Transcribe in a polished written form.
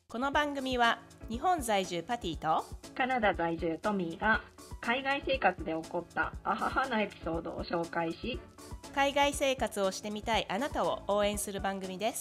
この番組は日本在住パティとカナダ在住トミーが海外生活で起こったアハハなエピソードを紹介し、 海外生活をしてみたいあなたを応援する番組です。